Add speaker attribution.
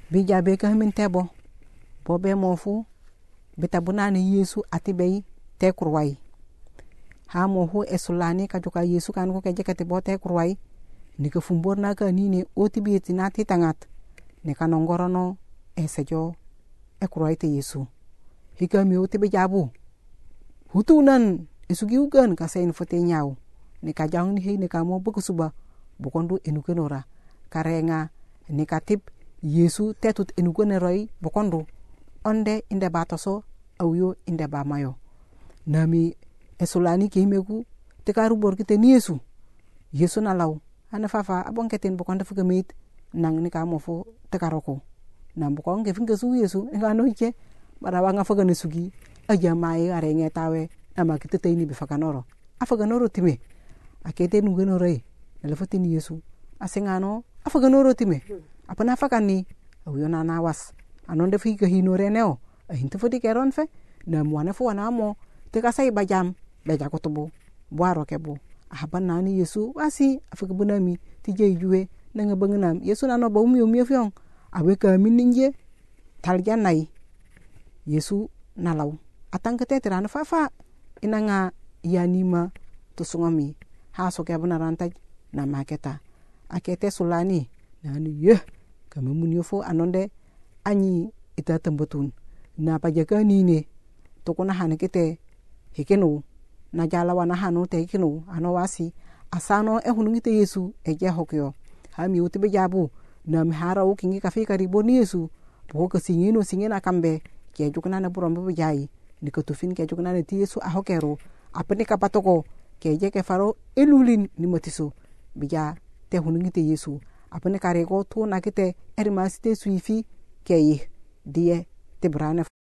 Speaker 1: bija be ka min tebo bo be mofu betabuna ni Yesu atibe te kurwai ha mohu esulani ka joka Yesu kan ko ke jekati bo te kurwai ni ka fumborna ka ni ne otibi tinati tangat ne kanongorono esejo e kurwai te Yesu hika mi otibe jabu hutunan isugi ugan ka sein fote nyau ne ka jang ni he ne ka mo buku suba bukondu enukenora karenga ne katip Yesu tetut enukene roi bukondu onde inde batoso awyo inde ba mayo nami esulani ke meku te karu bor kite ni Yesu na law ana fafa abon keten bukonde fuga mit nang ni ka mo fo te karoko nam bukon ke finga su Yesu ngano ike bara wanga fuga ne sugi aja mai are ngetawe ama kite te ni bifakanoro afaganoro time akete nungeno roi elefoti ni Yesu asengano afaganoro time apana fakani awyo na nawas anonde fika hinore neo ahinto fodi keron fe na mwana fo na mo te kasai bajam beja kotobo boaro kebo ahaban nani Yesu wasi afakabunami tije juwe nanga banganam Yesu nano ba umi fiong awe ka mininje taljanai Yesu nalaw atang keteterana fafa inanga yanima tusungami haso ke benarantaj na maketa akete sulani nani kamamunyo fo anonde anyi ita tembutun na pajaka nine tokona hanekete hekeno na jala wana hanu te hekeno anowasi asano ehunungite Yesu eje hokyo hami utibe jabu na mihara ukingi kafika riboni Yesu boka singena kambe ke jukuna na burombe bujai nikotufin ke jukuna na ti Yesu ahokero apene kapatoko ke je ke faro elulin ni motiso bija te hunungite Yesu apene karego to nakite erimasite suifi ke die te brane